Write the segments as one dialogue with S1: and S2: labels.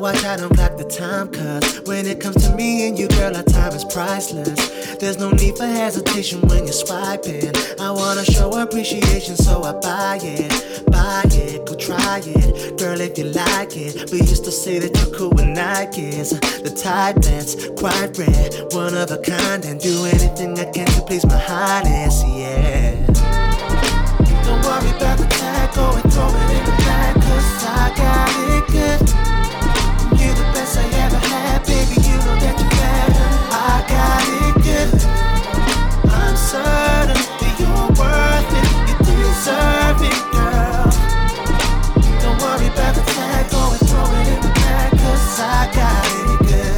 S1: watch, I don't clock the time, cause when it comes to me and you, girl, our time is priceless. There's no need for hesitation when you're swiping. I wanna show appreciation, so I buy it, go try it, girl, if you like it. We used to say that you're cool with Nikes, the type that's quite rare, one of a kind, and do anything I can to please my highness, yeah. Don't worry about the tag, go and throw it in the bag, cause I got it good. You're the best I ever had, baby, you know that you're better. I got it good. I'm certain that you're worth it, you deserve it, girl. Don't worry about the tag, go and throw it in the bag, cause I got it good.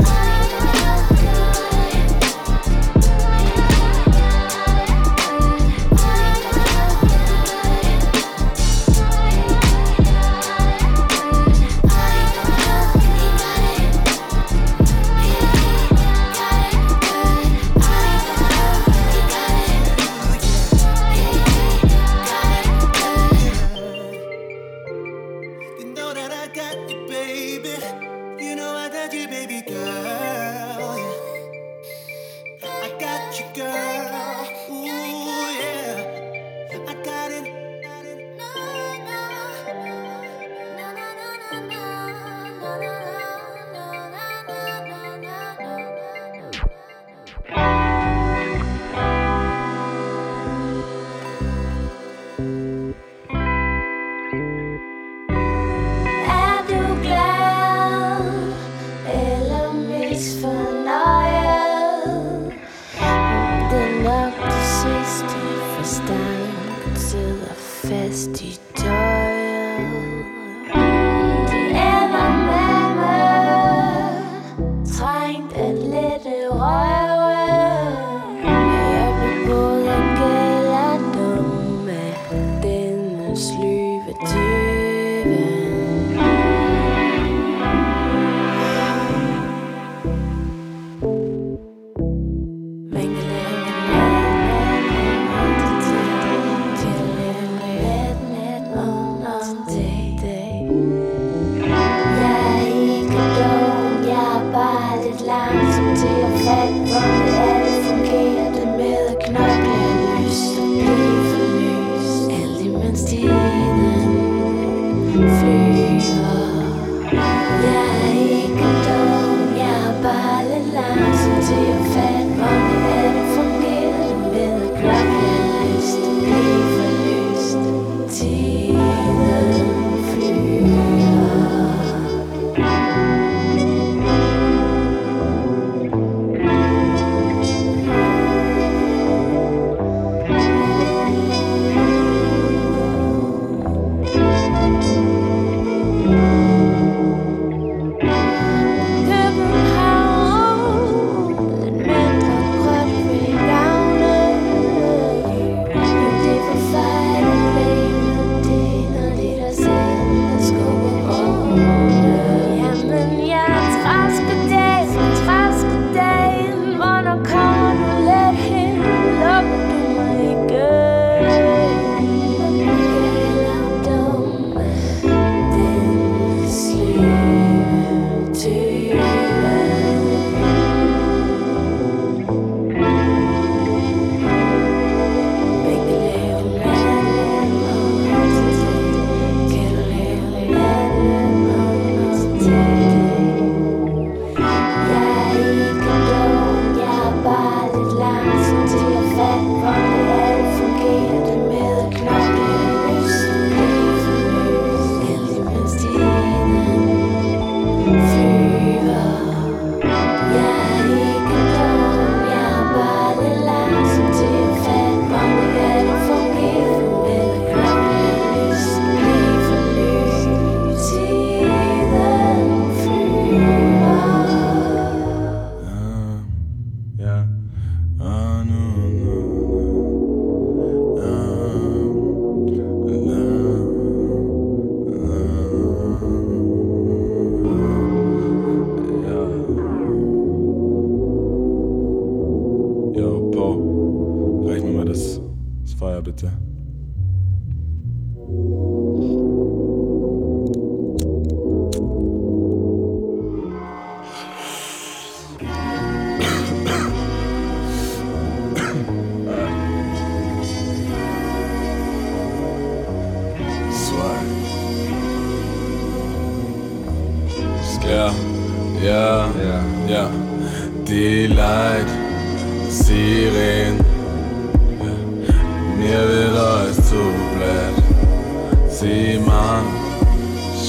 S2: bitte.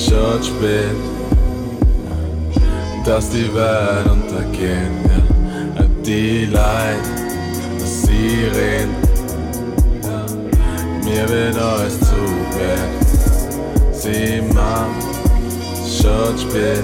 S2: schon spät, dass die Welt untergeht, ja. Die Leid, dass sie reden, ja. Mir wird alles zu spät. Sie machen schon spät,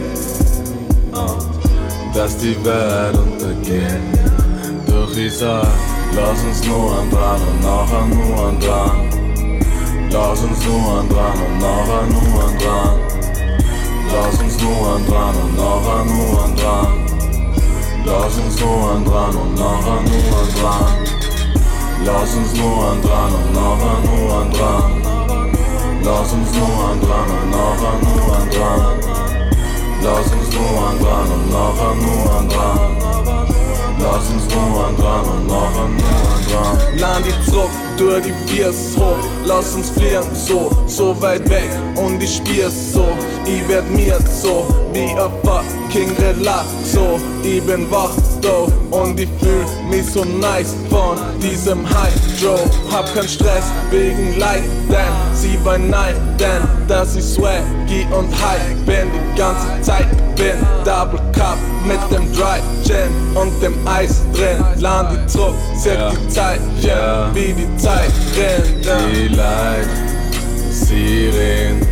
S2: dass die Welt untergeht. Doch ich sag, lass uns nur an dran und nachher nur an dran. Lass uns nur an dran und nachher nur an dran. Lass uns nur an dran und nachher nur an dran. Lass uns nur an dran und nachher nur an dran. Lass uns nur an dran und nachher nur an dran. Lass uns nur an dran und nachher nur an dran. Lass uns nur an dran und nachher nur an dran. Lass uns nur an dran und nachher nur an dran.
S3: Land die zurück, durch die Biers hoch. Lass uns fliehen, so weit weg. Und ich spür's so, ich werd mir so wie ein fucking Relaxo. Ich bin wach, do, und ich fühl mich so nice von diesem Hydro. Hab keinen Stress wegen Leid, denn sie war nein, denn dass ich swaggy und high bin die ganze Zeit. Bin Double Cup mit dem Dry Gin und dem Eis drin. Land die zurück, zählt die Zeit, yeah, wie die Zeit rennt.
S2: Die Leid, sie reden,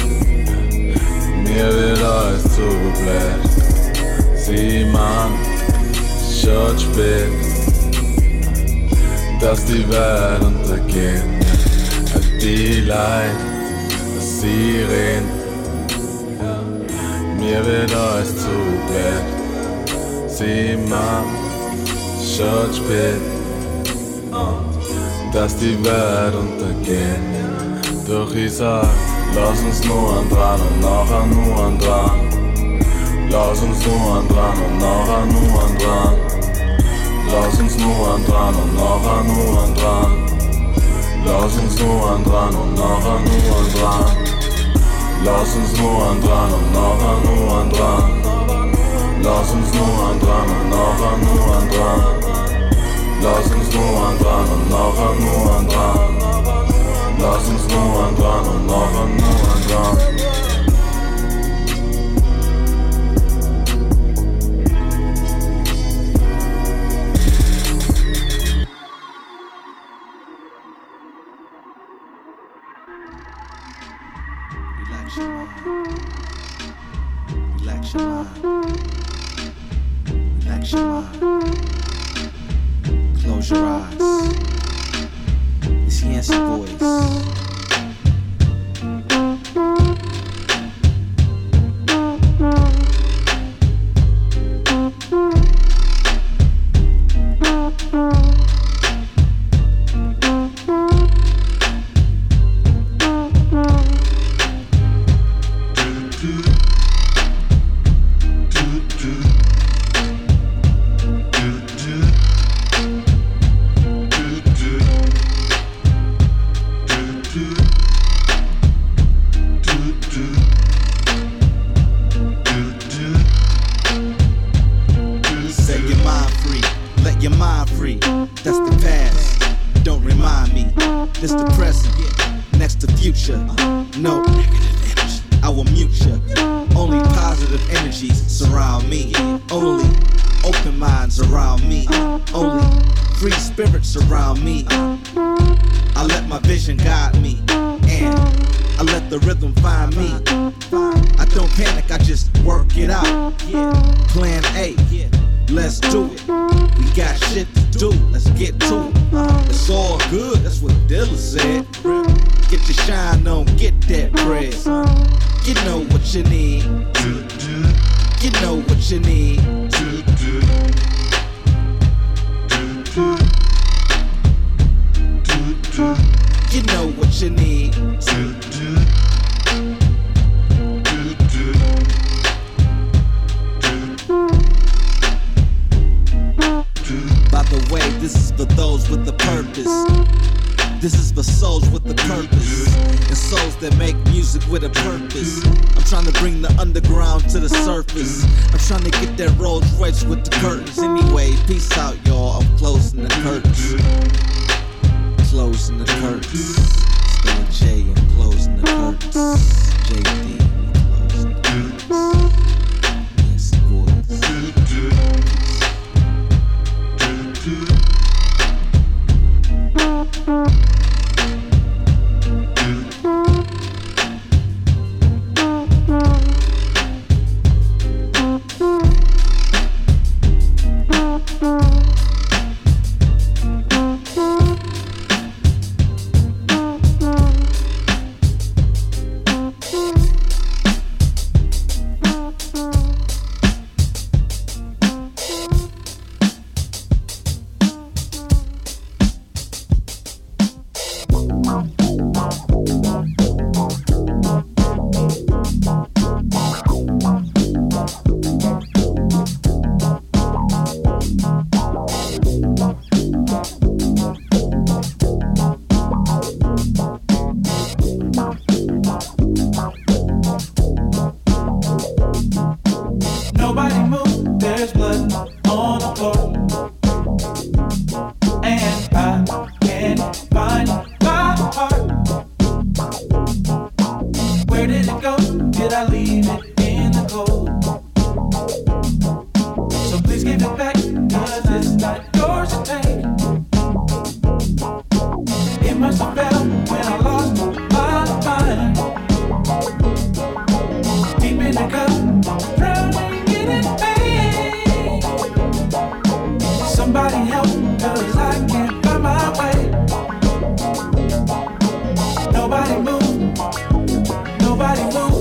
S2: mir wird alles zu blöd. Sie machen schon spät, dass die Welt untergeht. Die Leid, sie reden, mir wird alles zu blöd. Sie machen schon spät, dass die Welt untergeht. Doch ich sag, lass uns nur an dran und nachher nur an dran. Lass uns nur an dran und nachher nur an dran. Lass uns nur an dran und nachher nur an dran. Lass uns nur an dran und nachher nur an dran. Lass uns nur an dran und nachher nur an dran. Lass uns nur an dran und nachher nur an dran. Lass uns nur an dran und nachher nur an dran. Lass uns nur an dran und nachher nur an dran.
S1: Relax your mind. Relax your mind. Close your eyes. It's Yancey Boys. Closing the curtains. Still J and closing the curtains. JD.
S4: can't find my heart. Where did it go? Did I leave it in the cold? So please give it back, 'cause it's not yours to take. It must have fell when I lost my mind. Deep in the cup, drowning in it, pain. Somebody help, 'cause I can't find my way. Nobody move, nobody move.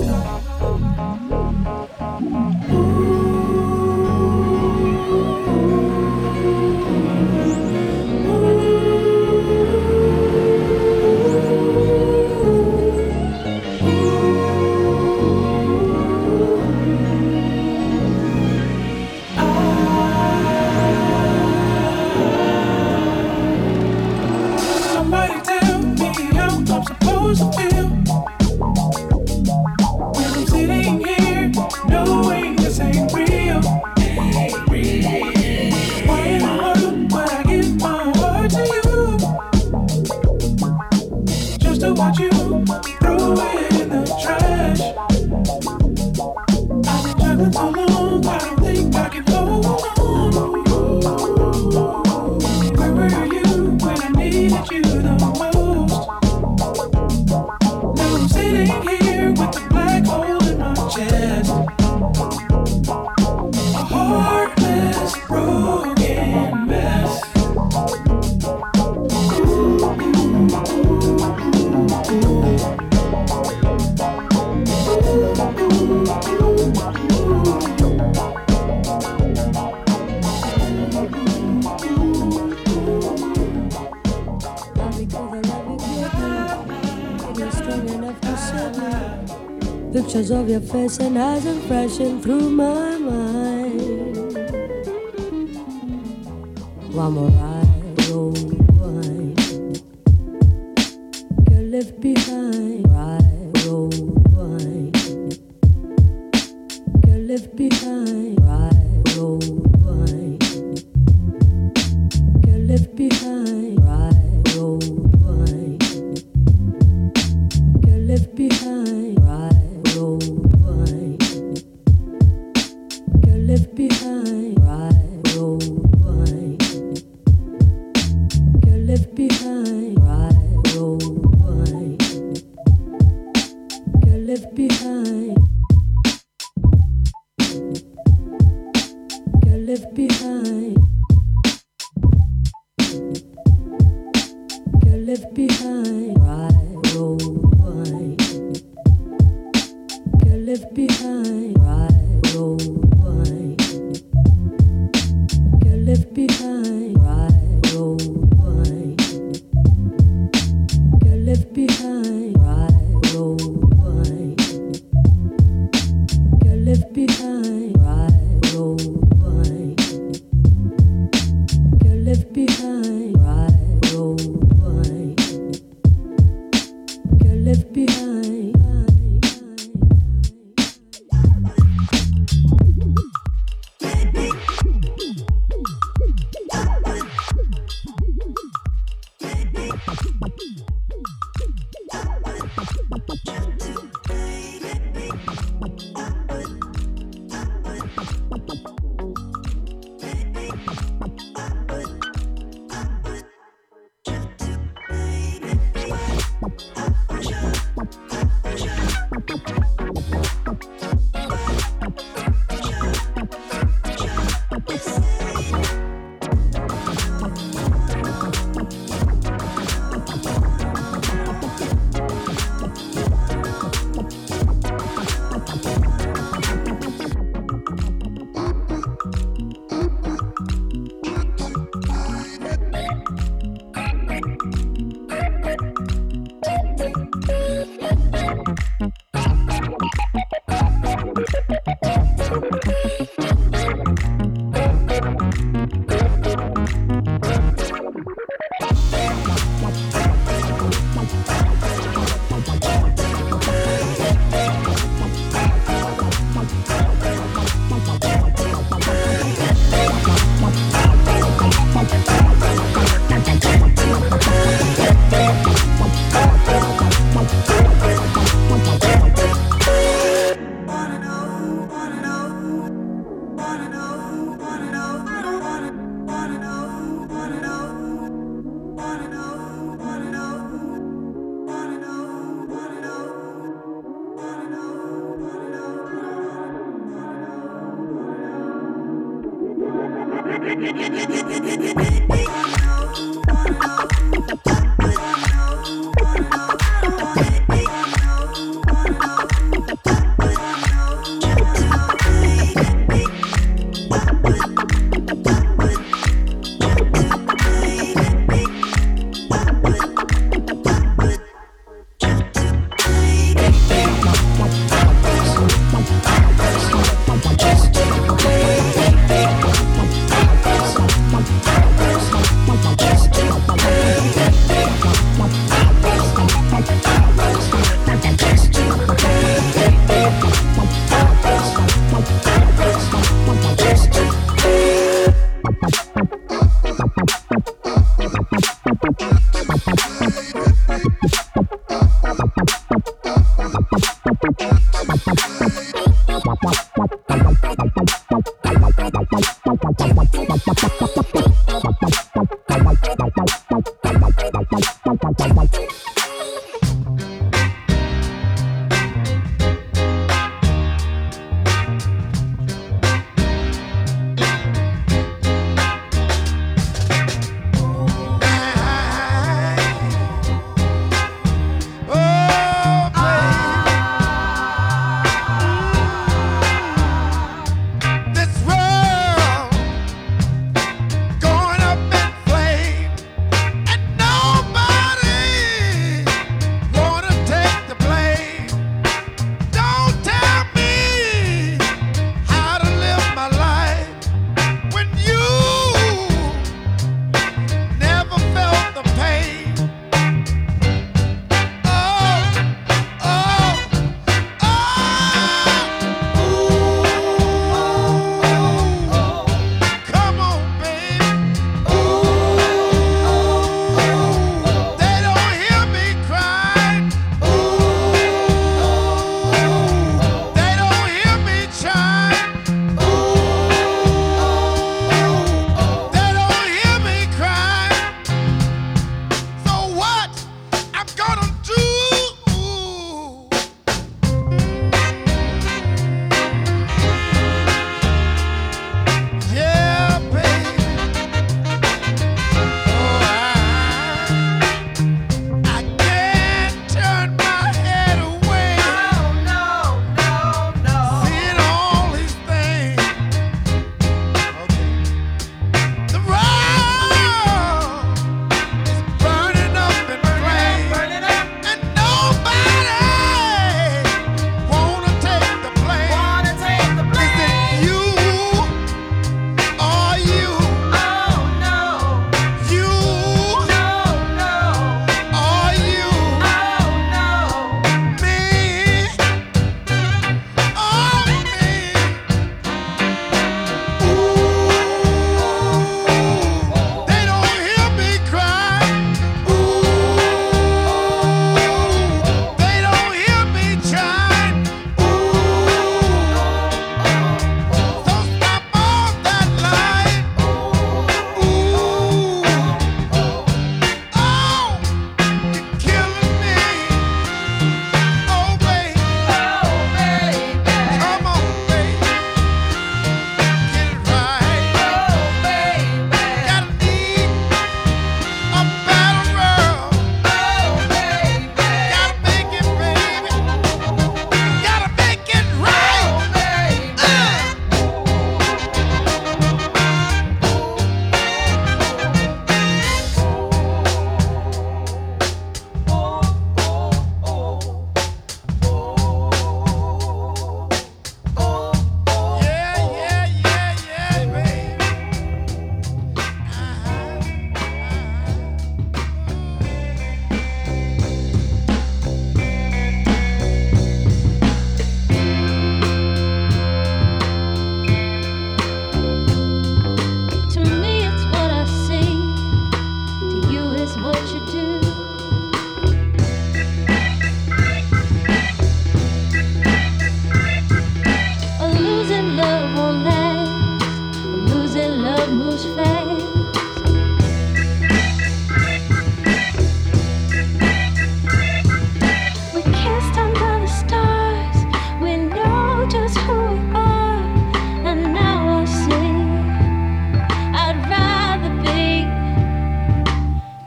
S4: Somebody tell me how I'm supposed to feel when I'm sitting here knowing this ain't real. Why in the world would I give my heart to you just to watch you throw it in the trash? I've been juggling so long, I don't think I can hold on. Where were you when I needed you the most? Now I'm sitting here with a black hole in my chest. A heartless, broken mess.
S5: Pictures of your face and eyes are flashing through my mind. One more ride, old wine. Get left behind. Ride, old wine. Get left behind. Ride, old wine. Get left behind. Ride, old wine. Get left behind. Ride, old wine. Get left behind. Ride, old wine. Get left behind. Ride, old wine. Get left behind. Get left behind. Get left behind. Ride, old wine. Get left behind. Ride, old wine. Get left behind. Ride, old wine. Get left behind. Ride, old wine. Get left behind. Ride, old wine. Get left behind. Ride, old wine. Get left behind.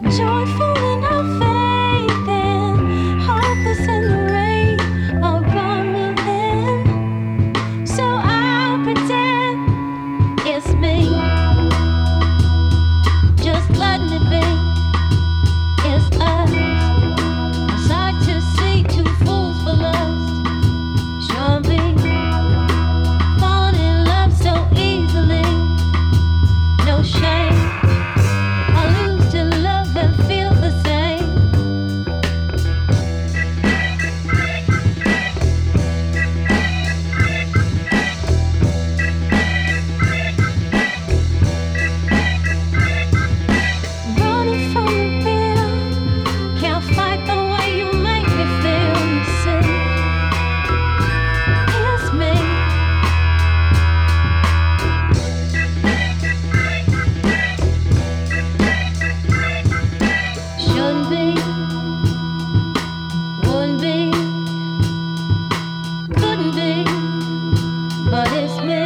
S6: joyful in our faith and hopeless in the rain of our within. So I'll pretend it's me, just letting it be. It's us. It's hard to see two fools for lust. Sure be falling in love so easily. No shame. I lose to love and feel the same. Running from the fear, can't fight the way you make me feel. You see, it's me. Shouldn't be, wouldn't be, couldn't be, but it's me.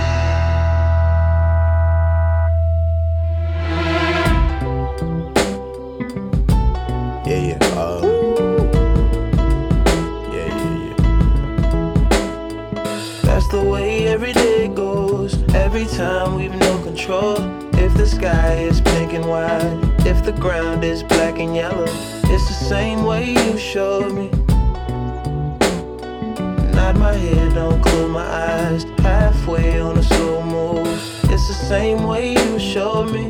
S7: Yeah. That's the way every day goes. Every time we've no control. If the sky is pink and white, if the ground is black and yellow, it's the same way you showed me. Nod my head, don't close my eyes. Halfway on a slow move. It's the same way you showed me.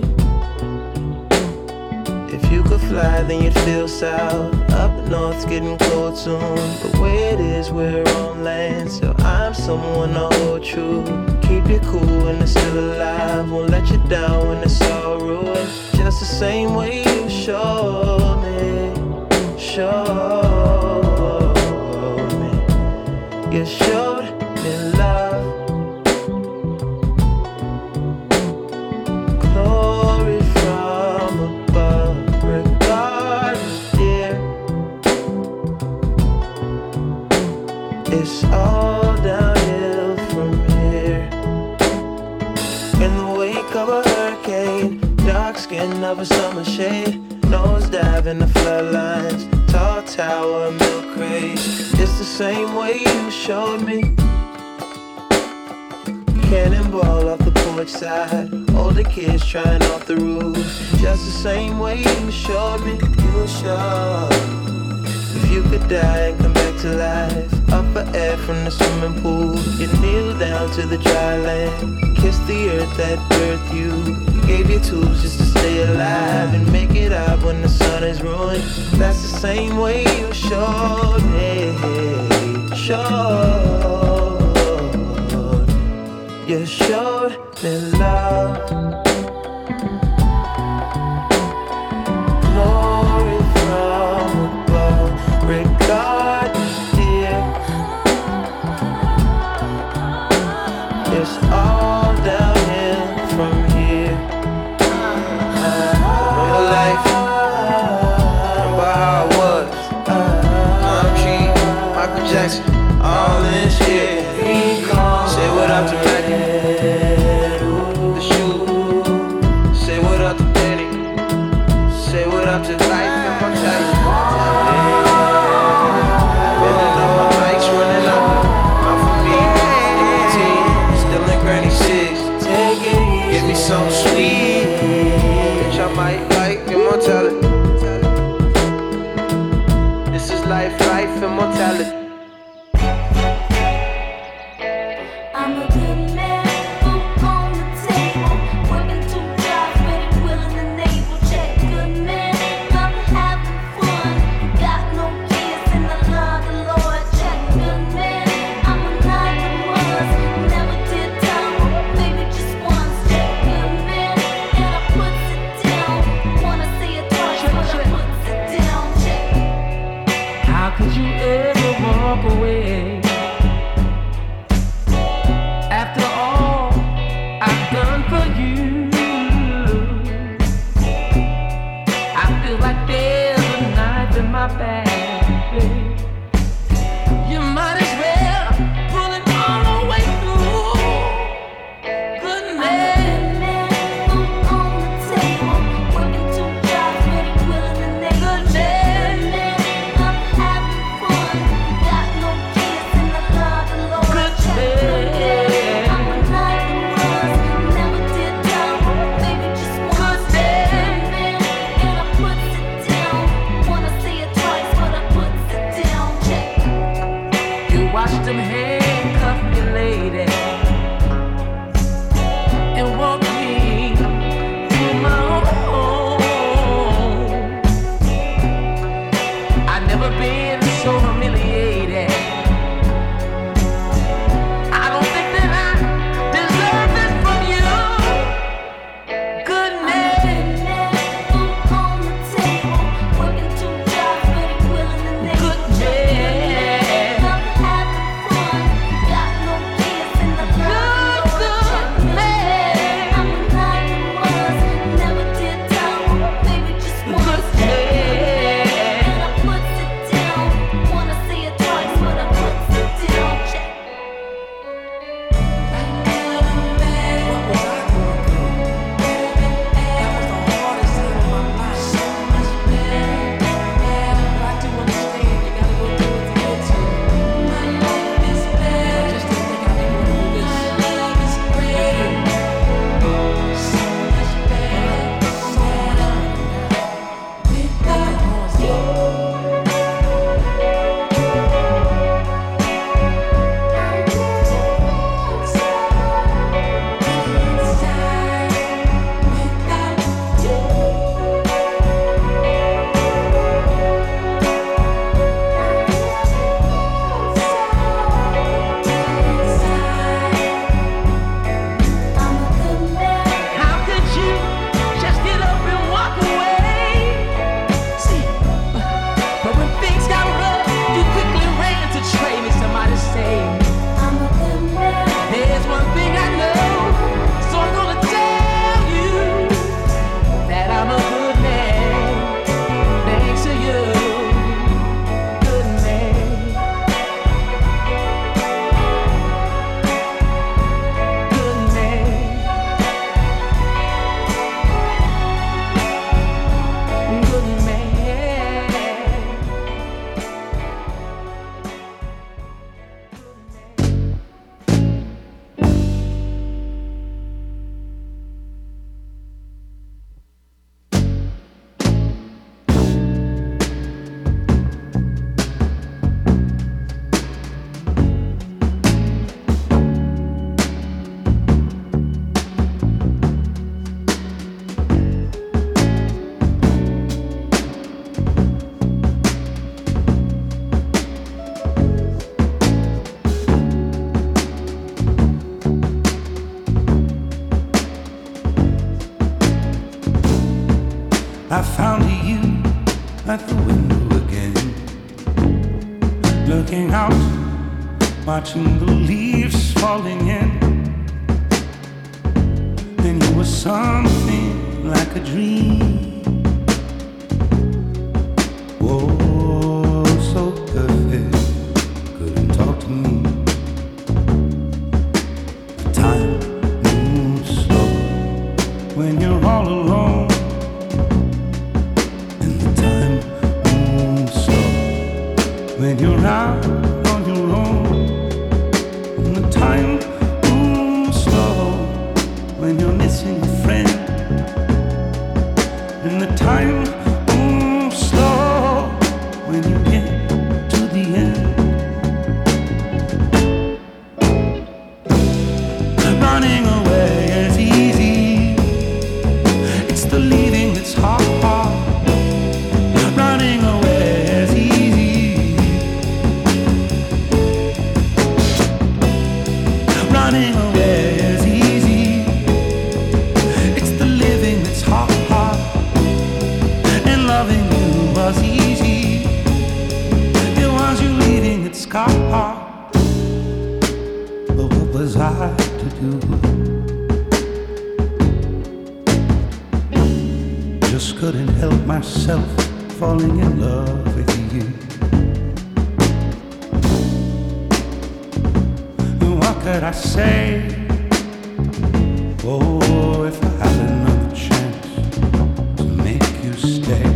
S7: If you could fly, then you'd feel south. Up north's getting cold soon. The way it is, we're on land, so I'm someone to hold true. Keep you cool when it's still alive. Won't let you down when it's all ruined. Just the same way you showed me. Showed me. You showed me love. Glory from above. Regardless, dear, it's all downhill from here. In the wake of a hurricane, dark skin of a summer shade, nosedive in the floodlines, tall tower, milk crate. It's the same way you showed me. Cannonball off the porch side, older kids trying off the roof. Just the same way you showed me. You showed. If you could die and come back to life, up for air from the swimming pool, you kneel down to the dry land, kiss the earth that birthed you, gave you tools just to stay alive and make it out when the sun is ruined. That's the same way you showed me. Showed. You showed me love. Glory from above. Regardless, dear, it's all downhill from here. Real life, remember how it was. I'm cheap, Michael Jackson, all in shit. Say what up to Reggie, the shoe. Say what up to Danny. Say what up to life and my child. Running up my bikes, running up. Out for me, nicotine, still in Granny 6. Give me something sweet, bitch, I might like immortality. This is life, immortality.
S6: I'm a good man, food on the table, working 2 jobs, ready, willing, and able. Check, good man, love having fun. You got no kids and I love the Lord. Check, good man, I'm monogamous, never did time, maybe just once. Check, good man, and I puts it down. Wanna say it twice, but I puts it down. Check.
S4: How could you ever want
S8: at the window again, looking out, watching the leaves falling in. Then you were something like a dream. Oh, so perfect, couldn't talk to me. The time moves slow when you're all alone, and the time moves slow when you're out on your own, and the time moves slow when you're missing a friend, and the time moves slow when you get to the end. Running away is easy, it's the leaving that's hard. Running away is easy, running away is easy, it's the living that's hard. And loving you was easy, it was you leaving that's hard. But what was I to do? Just couldn't help myself falling in love with you. And what could I say? Oh, if I had another chance to make you stay.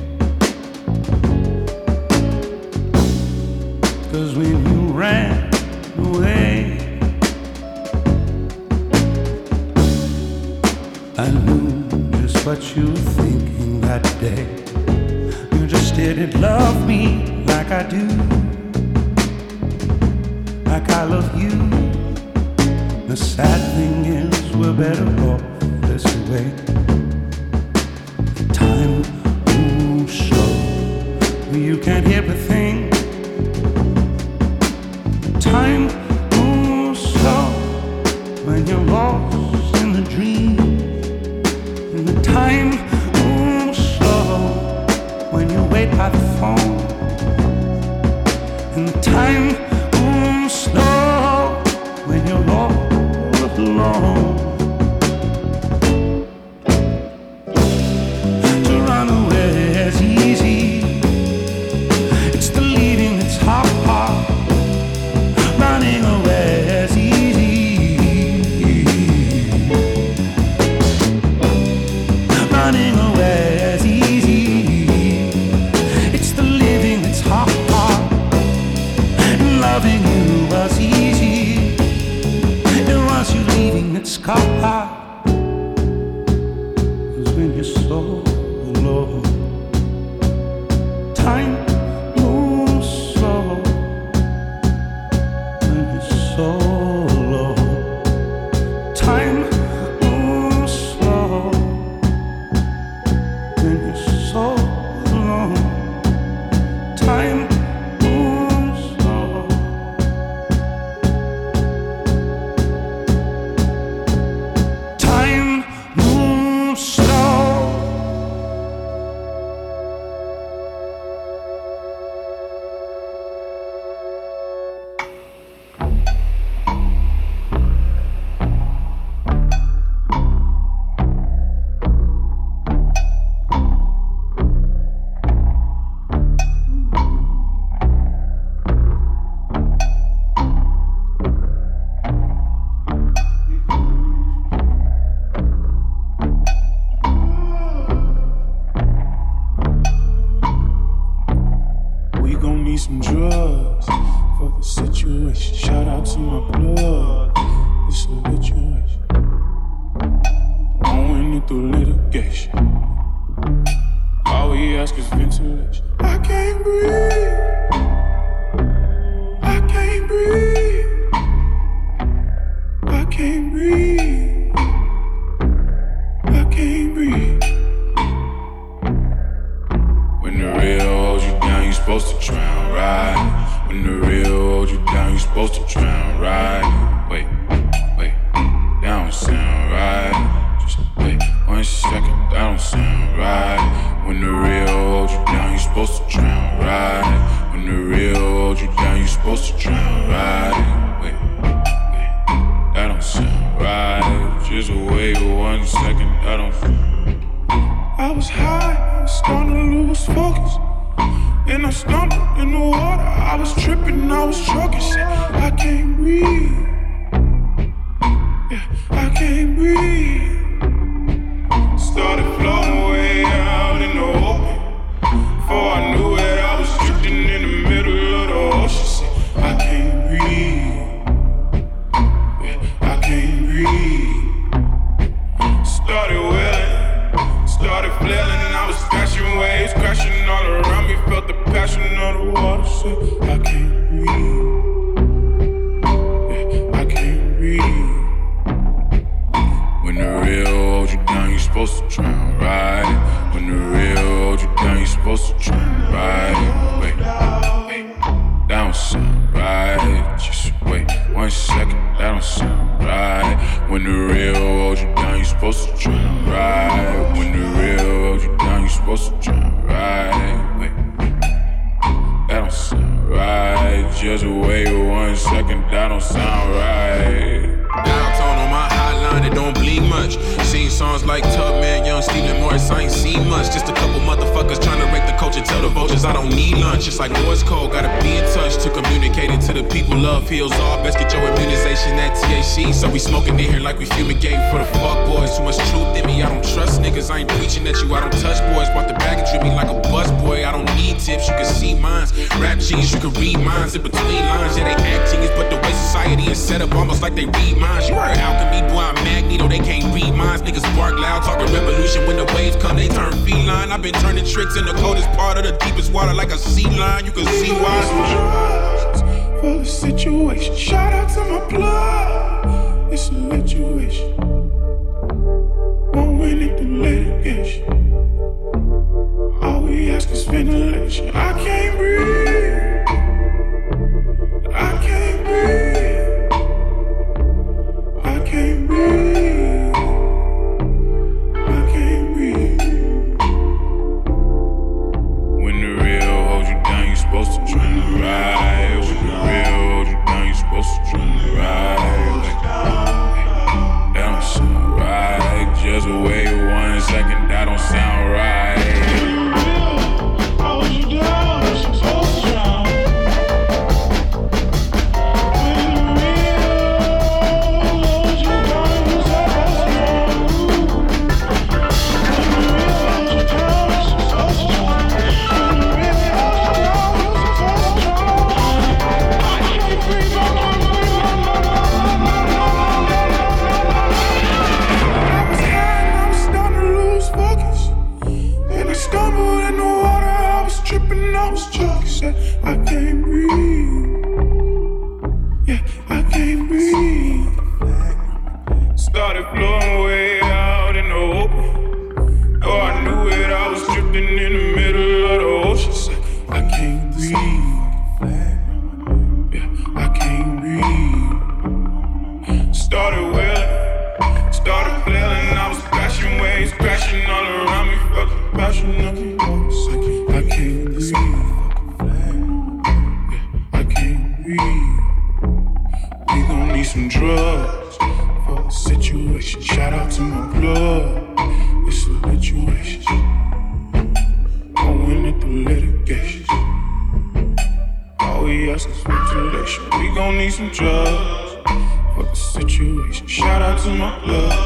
S8: 'Cause when you ran away, I knew just what you were thinking that day. You just didn't love me like I do, like I love you. The sad thing is we're better off this way. Time moves slow, you can't hear a thing. Time moves slow when you're lost in the dream. And the time moves slow when you wait by the phone. And the time moves slow when you're all alone. To run away is easy, it's the leaving that's hard. Running away is easy, running away is easy, it's the living that's hard. And loving you was easy, it was you leaving that's hard. 'Cause when you're so alone, time moves slow. When you're so alone, time moves slow. When you're so alone, time moves slow. Time moves slow.
S9: We gon' need some drugs for the situation. Shout out to my blood, it's a situation. Won't win it through litigation. All we ask is ventilation. I can't breathe, I can't breathe, I can't breathe, I can't breathe. When the real holds you down, you supposed to drown, right? When the real holds you down, you supposed to drown, right? Wait, that don't sound right. Just wait 1 second, that don't sound right. When the real holds you down, you supposed was stumbling in the water. I was tripping, I was choking. Shit, I can't breathe. Yeah, I can't breathe. Started floating way out in the open. Before I knew it, I was drifting in the middle of the ocean. Shit, I can't breathe. Yeah, I can't breathe. Started wailing, started flailing, and I was crashing waves, crashing all around me. Felt the passion of the water. Shit, I can't breathe. Yeah, I can't breathe. When the real hold you down, you supposed to drown, right? When the real hold you down, you supposed to drown, right? Wait, that don't sound right. Just wait 1 second, that don't sound right. When the real hold you down, you supposed to drown, right? When the real hold you down, you supposed to drown, right? Wait, that don't sound right. Just wait 1 second, that don't sound right.
S10: Downtown on my hotline, it don't bleed much. Seen songs like Tubman, Young Stephen Morris, I ain't seen much. Just a couple motherfuckers trying to rake the culture, tell the vultures I don't need lunch. It's like Morse code, gotta be in touch to communicate it to the people. Love heals all, best get your immunization at THC. So we smoking in here like we fumigating for the fuck boys. Too much truth in me, I don't trust niggas. I ain't preaching at you, I don't touch boys. Bought the bag and drip me like a bus boy. I don't need tips, you can see mines. Rap genius, you can read minds in between lines. Yeah, they act genius, but the way society is set up almost like they read minds. You heard alchemy, boy, I'm Magneto, they can't read minds. Niggas bark loud, talking revolution. When the waves come, they turn feline. I've been turning tricks in the coldest part of the deepest water like a sea lion. You can see why.
S9: For the situation, shout out to my blood. It's a situation. Won't win it through litigation. All we ask is ventilation. I can't breathe. I can't breathe. I can't breathe. I can't breathe. When the real hold you down, you supposed to drown, right? When the real hold you down, you supposed to drown, right? That don't sound right. Just wait 1 second, that don't sound right. Hold you down, you supposed to drown. When the real hold you down, you supposed to drown. When the real hold you down, you supposed to drown. When the real hold you down, you supposed to drown. I can't breathe, I can't breathe, I was high and I was starting to lose focus. And I stumbled in the water, I was tripping, I was choking. Said, I can't breathe. Yeah, I can't breathe. Started floating way out in the open. Oh, I knew it, I was drifting in the middle of the ocean. Said, I can't breathe. Yeah, I can't breathe. Started wailing, started flailing. I was crashing waves, crashing all around me. Felt the passion of the waves. I can't breathe. Yeah, I can't breathe. We gon' need some drugs for the situation. Shout out to my blood. It's a situation. Won't win it through litigation. All we ask is ventilation. We gon' need some drugs for the situation. Shout out to my blood.